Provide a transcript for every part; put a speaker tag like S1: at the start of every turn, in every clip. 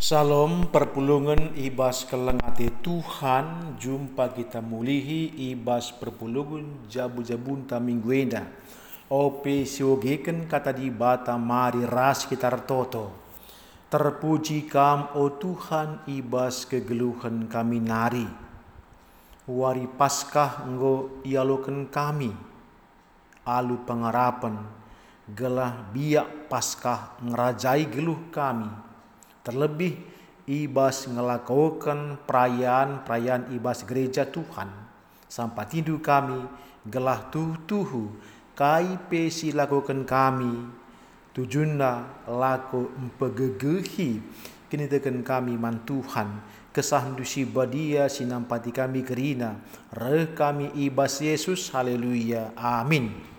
S1: Salam perpulungan ibas kelengati Tuhan, jumpa kita mulihi ibas perpulungan jabu-jabun ta mingguenda. Ope siogeken kata di bata mari ras kita toto. Terpuji kam o Tuhan ibas kegeluhan kami nari. Wari Paskah enggo ialoken kami. Alu pengarapan gelah biak Paskah ngerajai geluh kami. Terlebih ibas ngelakukan perayaan ibas gereja Tuhan. Sampai tindu kami gelah tuhu kai si lakukan kami. Tujuna laku empegegehi kini tekan kami man Tuhan. Kesahandu si badia sinampati kami kerina. Reh kami ibas Yesus. Haleluya. Amin.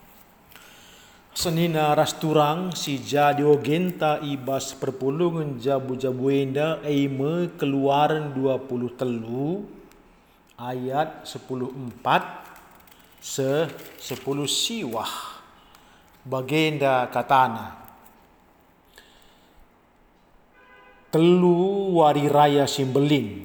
S1: Senina rasturang si jadio genta ibas perpulungan jabu-jabuenda eime keluaran 20 telu ayat 10:4 10 siwah bagenda katana telu wari raya simbelin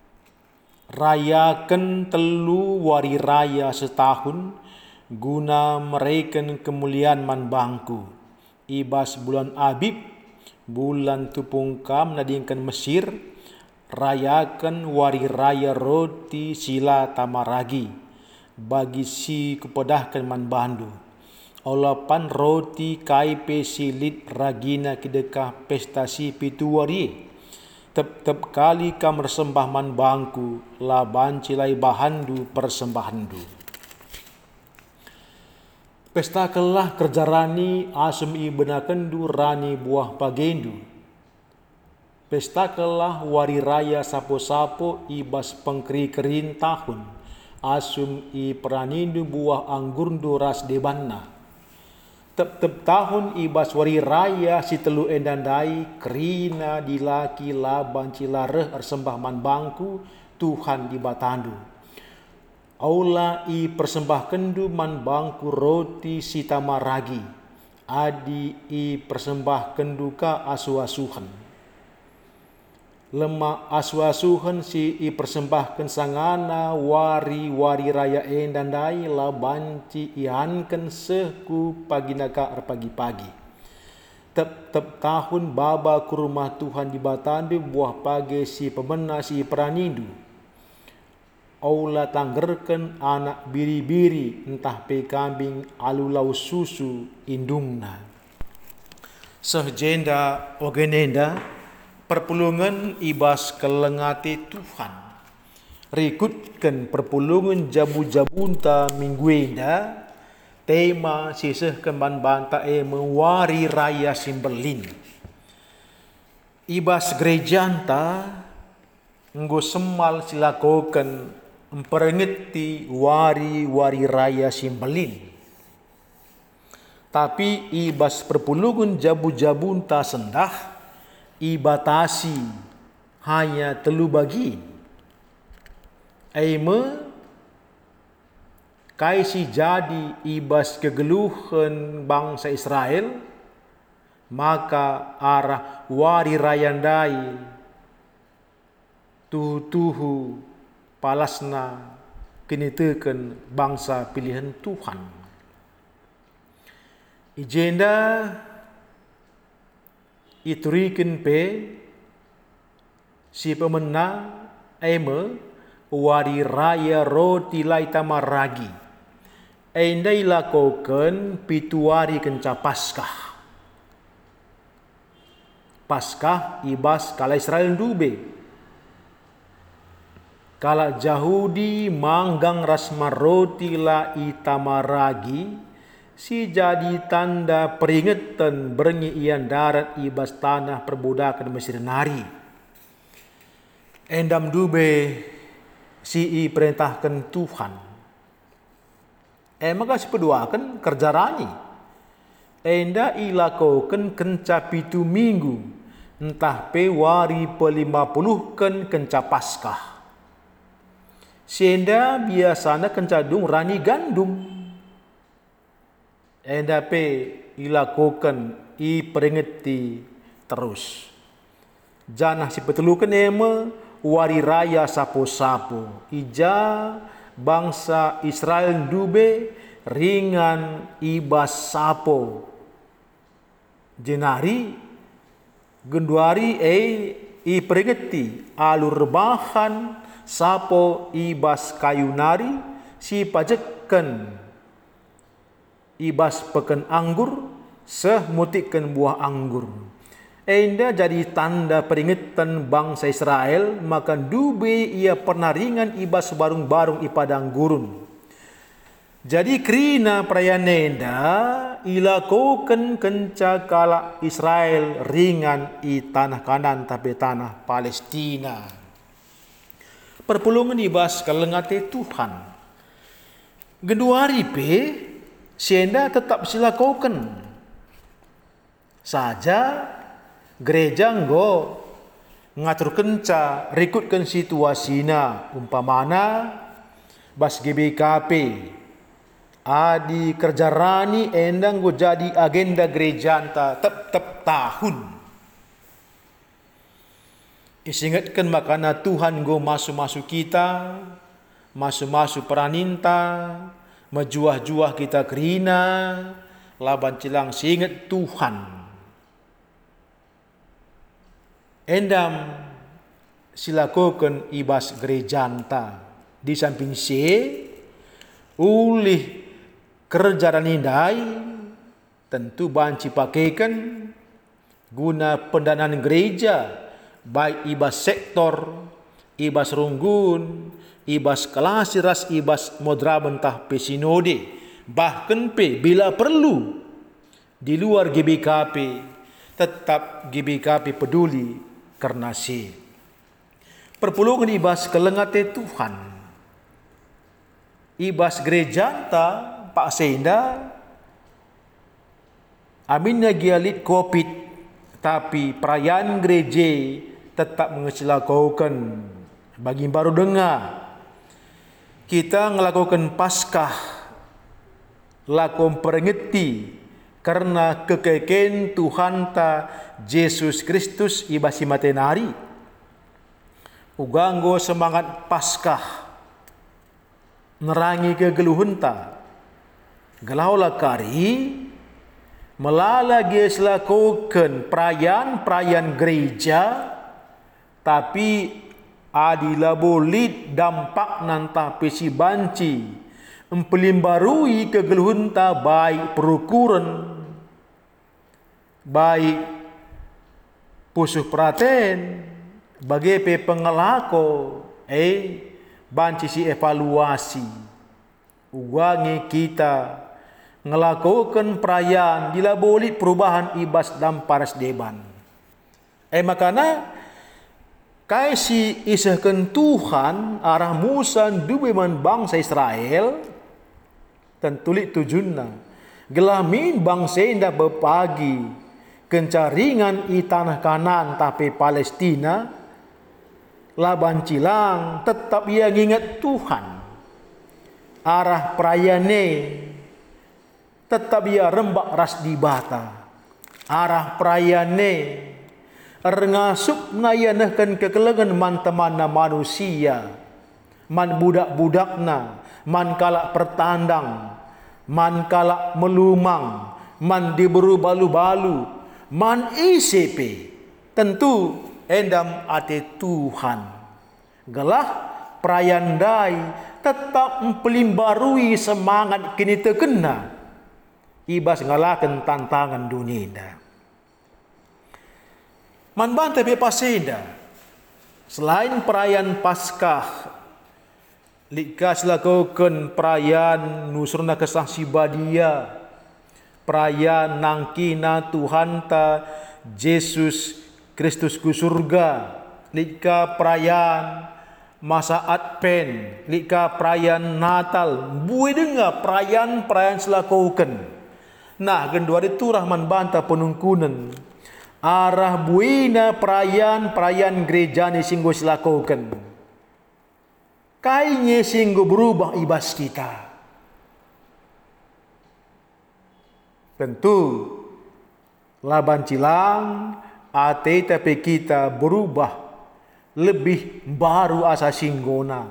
S1: rayakan telu wari raya setahun guna mereken kemuliaan man bangku. Ibas bulan Abib, bulan tupungkam nadingkan Mesir, rayakan wari raya roti sila tamaragi, bagi si kupedahkan man bandu. Olapan roti kaipe silit ragina kedekah pestasi pitu wari. Tep kali kam resembah man bangku, laban cilai bahandu persembahandu. Pesta kelah kerja rani asum i benakendu rani buah pagendu. Pesta kelah wari raya sapo-sapo ibas pengkeri-kerin tahun. Asum i peranindu buah anggurndu ras debanna. Tep tahun ibas wari raya si telu endandai kerina dilaki laban cilareh ersembah man bangku Tuhan di batandu. Aula i persembahkendu man bangku roti si tamaragi. Adi i persembahkendu ka asu-asuhan. Lemak asu-asuhan si i persembahken sangana wari raya endandai labanci ihanken seku paginaka pagi-pagi. Tep tahun baba ke rumah Tuhan di batandu buah pagi si pemena si peranindu. Aula tanggerken anak biri-biri entah pe kambing alulau susu indungna. Sehjenda ogenenda perpulungan ibas kelengati Tuhan. Rikutkan perpulungan jabu-jabunta mingguenda tema siseh kemban banta mewari raya simbelin. Ibas gerejanta nggo semal silakoken memperingati wari raya simbelin. Tapi ibas perpulungan jabu-jabun ta sendah ibatasi hanya telu bagi. Eime kaisi jadi ibas kegeluhan bangsa Israel, maka arah wari rayandai tuhu palasna kini teken bangsa pilihan Tuhan. Ijenda ituriken pe si pemena eme wari raya roti lai tamaragi. Endai lakoken pituari kenca Paskah. Paskah ibas kala Israel dube. Kala Jahudi manggang rasma roti la itamaragi, si jadi tanda peringatan berengi ian darat ibas tanah perbudakan Mesir nari. Endam dube si i perintahkan Tuhan. Maka si peduakan kerja rani. Enda ilakoken kenca 7 minggu, entah pe wari pe-50 kenca Paskah. Senda biasanya kencadung rani gandum. Endape ilakukan i peringati terus. Janah si petelukan ema wari raya sapo-sapo. Ija bangsa Israel dube ringan ibas sapo. Jenari genduari i peringeti alur bahan sapo ibas kayu nari si pajeken ibas peken anggur seh mutikkan buah anggur. Enda jadi tanda peringatan bangsa Israel maka dube ia pernah ringan ibas barung-barung i padang gurun. Jadi kerina perayaan enda ilakukan kenca kala Israel ringan i tanah Kanan tapi tanah Palestina. Perpulungan ibas kalengate Tuhan. Genduari pe sienda tetap silakukan. Saja gereja nggo ngatur kenca rikutkan situasina umpamana bas GBKP adi kerja rani endang go jadi agenda gereja anta tep tahun. Isingatkan makana Tuhan go masuk-masuk kita, masuk-masuk peraninta, majuah-juah kita kerina, laban cilang singet Tuhan. Endam silakukan ibas gereja anta. Di samping ulih kerja dan indai tentu banci pakaikan guna pendanaan gereja baik ibas sektor, ibas runggun, ibas kelasiras, ibas modra bentah pesinode, bahkan bila perlu di luar GBKP tetap GBKP peduli karena perpulungan ibas kelengate Tuhan. Ibas gereja anta Pak Senda aminnya gialit COVID tapi perayaan gereja tetap mengesilakukan bagi baru dengar kita ngelakukan Paskah lakom peringeti karena kekeken Tuhan ta Yesus Kristus ibasi matenari uganggo semangat Paskah nerangi kegeluhunta gelaulah kari melala ges lakukan perayaan gereja tapi adila bolit dampak nanta pesi banci empelimbarui kegeluhunta baik perukuran baik pusuh praten bagi pengelako banci si evaluasi uwangi kita ngelakukan perayaan dilabolit perubahan ibas dan paras deban makana kai si isahkan Tuhan arah Musa dubeman bangsa Israel tentulik tujunna gelamin bangsa indah berpagi kencaringan i tanah Kanan tapi Palestina laban cilang tetap ia ingat Tuhan arah perayane tetap ia rembak ras di bata arah perayane rengasuk nayanahkan kekelengan man temanna manusia man budak-budakna man kalak pertandang man kalak melumang man diburu balu-balu man ICP tentu endam ate Tuhan gelah perayandai tetap mempelimbarui semangat kini terkena ibas ngalakan tantangan dunia man bantai bepaseda selain perayaan Paskah likas lakukan perayaan nusurna kesah sibadia perayaan nangkina Tuhan ta Yesus Kristus ku surga lika perayaan masa Advent lika perayaan Natal buih dengar perayaan selakukan nah gendua itu rahman banta penungkunan arah buina perayaan gereja ni singgo selakukan kainya singgo berubah ibas kita tentu laban cilang ate tapi kita berubah lebih baru asa singgona.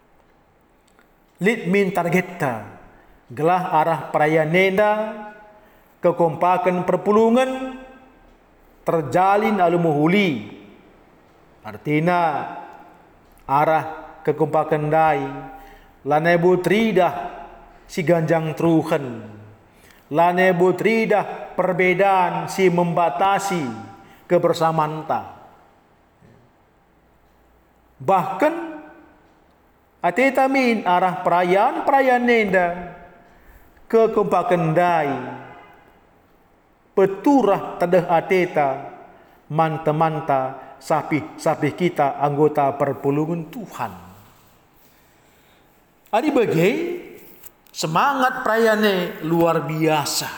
S1: Lit min targeta gelah arah perayaan nenda kekompakan perpulungan terjalin alumuhuli. Artinya arah kekompakan dai lanebu tridah si ganjang truhen, lanebu tridah perbedaan si membatasi kebersamaan ta. Bahkan atetamin arah perayaan nenda kekompakan dai peturah tadah ateta manta-manta sapi kita anggota perpulungan Tuhan. Adi bagai semangat perayaannya luar biasa.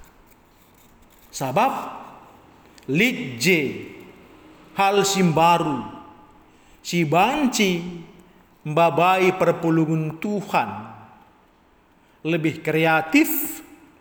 S1: Sabab lidje hal simbaru si banci mbabai perpulungan Tuhan lebih kreatif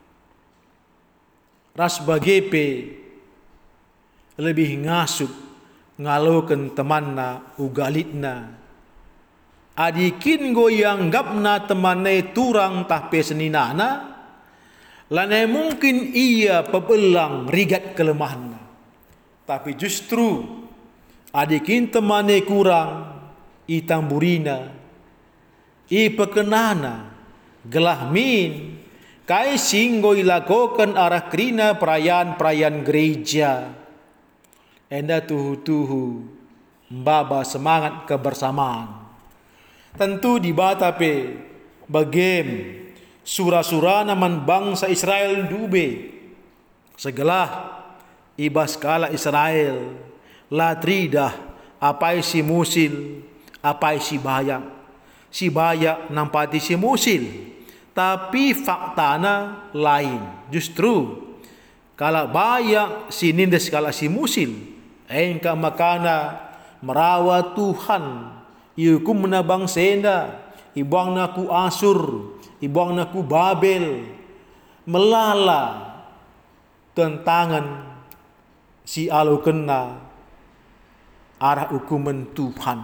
S1: ras bagepe lebih ngasuk ngaloken temanna ugalitna adikin goyang gapna temane turang tahpe seninana lane mungkin ia pebelang rigat kelemahanna tapi justru adikin temane kurang i tamburina i pekenana gelah min kai singgo ilakokan arah krina perayaan gereja enda tuhu mbaba semangat kebersamaan. Tentu di batape bagem sura-sura naman bangsa Israel dube segelah ibas kala Israel latridah apai si musil apai si bayak nampati si musil tapi faktana lain. Justru kala bayak si nindes kala si musil engka makana merawat Tuhan iukum menabang senda ibang naku Asur ibang naku Babel melala tentangan si alu kena arah hukuman Tuhan.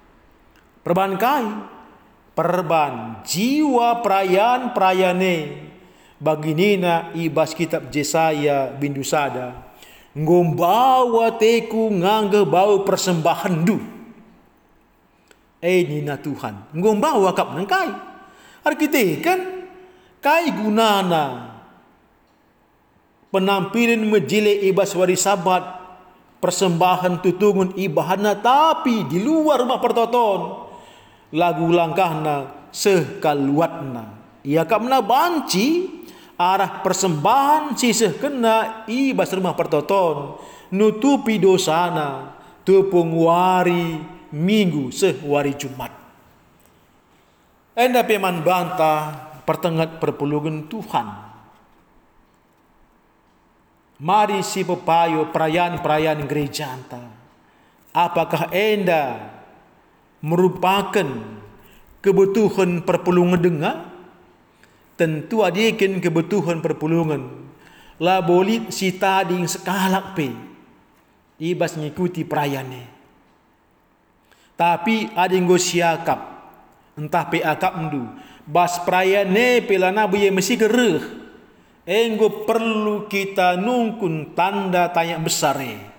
S1: Perban jiwa perayaan-perayane baginina ibas kitab Jesaya bindusada ngombawa teku ngangge bau persembahan du nina Tuhan ngombawa kap nengkai arkite kan kai gunana penampilan mejile ibas wari sabat persembahan tutungun ibahana tapi di luar rumah pertoton lagu langkahna sekaluatna ia kamna banci arah persembahan sisih kena ibas rumah pertoton nutupi dosana tepung wari minggu sehwari Jumat enda peman bantah pertengat perpulungan Tuhan mari si pepayo perayaan gereja anta apakah enda merupakan kebutuhan perpulungan dengar tentu adikin kebutuhan perpulungan la bolit si tading sekalak pe ibas ngikuti perayaannya tapi ading go siakap entah pe akap ndu bas perayaannya pelana buye mesti gereh enggo perlu kita nungkun tanda tanya besar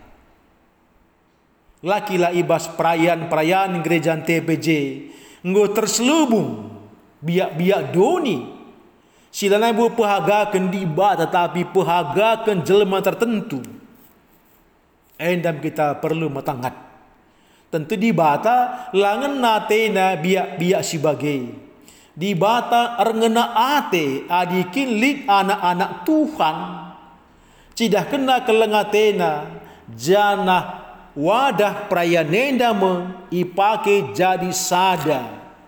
S1: lakilah ibas perayaan gereja TPJ enggo terselubung biak-biak doni silana bu pehagakan diba tetapi pehagakan jelema tertentu endam kita perlu matangat tentu di bata langen natena biak-biak sibagai di bata arngena ate adikin lid anak-anak Tuhan cidah kena kelengatena janah wadah prayanenda ipake jadi sada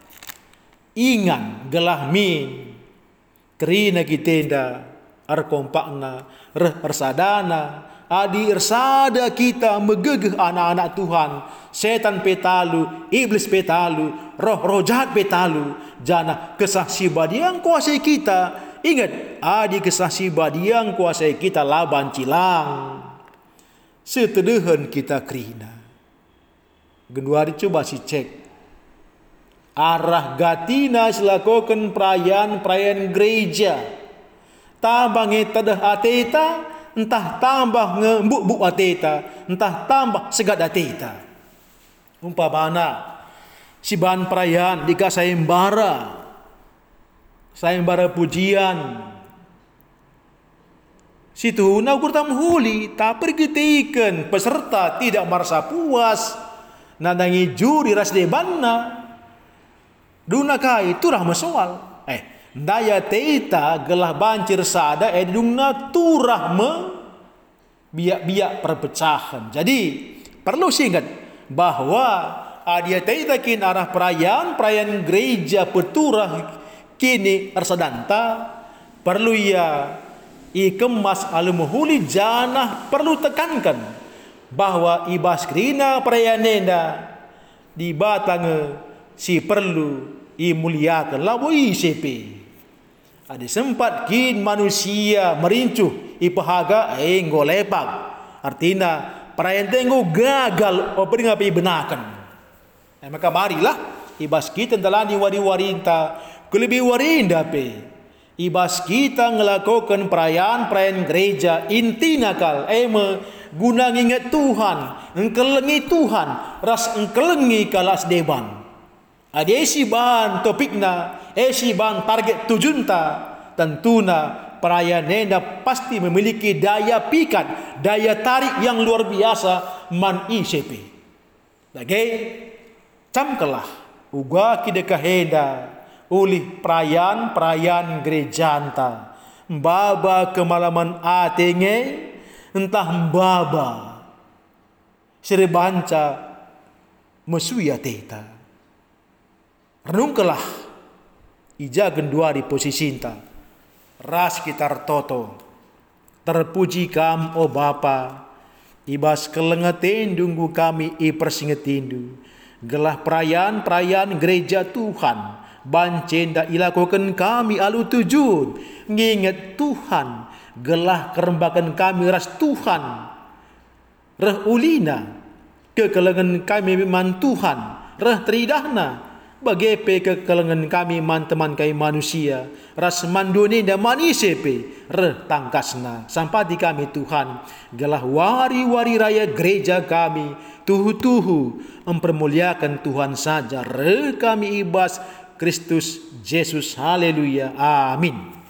S1: ingan gelah min kerina kitenda arkompakna ersadana adi ersada kita megegeh anak-anak Tuhan setan petalu iblis petalu roh jahat petalu jana kesah sibadi yang kuasai kita ingat adi kesah sibadi yang kuasai kita laban cilang Setedehan kita kerina. Genduari coba si cek. Arah gatina selakukan perayaan gereja. Tambah ngetadah ateta, entah tambah ngembuk-buk ateta, entah tambah segat ateta. Umpamana si bahan perayaan dika sayembara pujian. Situ na kurtam huli, tak pergitikan peserta tidak merasa puas. Nadangi juri ras debanna. Duna kai turah mesoal. Daya teita gelah bancir sada edungna turah biak-biak perpecahan. Jadi perlu ingat bahwa adia teita kin arah perayaan gereja peturah kini arsadanta perlu ya ikemas alumuhuli janah perlu tekankan bahwa ibas krina perayaan di batang si perlu muliakan lawo ICP. Ada sempat kin manusia merincuh ipahaga ngolepak. Artinya perayaan tenggo gagal opering api benakan. Maka marilah ibas kita telani wari-warinta kelebih warinda pe. Ibas kita ngelakukan perayaan gereja intina kal guna ngingat Tuhan, engkelengi Tuhan, ras engkelengi kalas deban. Ada isi bahan topikna, isi bahan target tujunta, tentuna perayaan nenda pasti memiliki daya pikat, daya tarik yang luar biasa man ICP. Lagi camkelah uga kidekaheda oleh perayaan gereja anta. Mbaba kemalaman atenge entah mbaba serebanca mesuya teta. Renungkelah ija gendua di posisi inta. Ras kitar toto. Terpuji kam o Bapa. Ibas kelengetin dunggu kami persingetindu. Gelah perayaan gereja Tuhan. Bancenda ilakukan kami alu tujun. Nginget Tuhan. Gelah kerembakan kami ras Tuhan. Reh ulina. Kekelengan kami memang Tuhan. Reh teridahna. Bagepe kekelengan kami man teman kai manusia. Ras manduni dan manisepe. Reh tangkasna. Sampai di kami Tuhan. Gelah wari-wari raya gereja kami. Tuhu-tuhu. Mempermuliakan Tuhan saja. Reh kami ibas Kristus Yesus. Haleluya. Amin.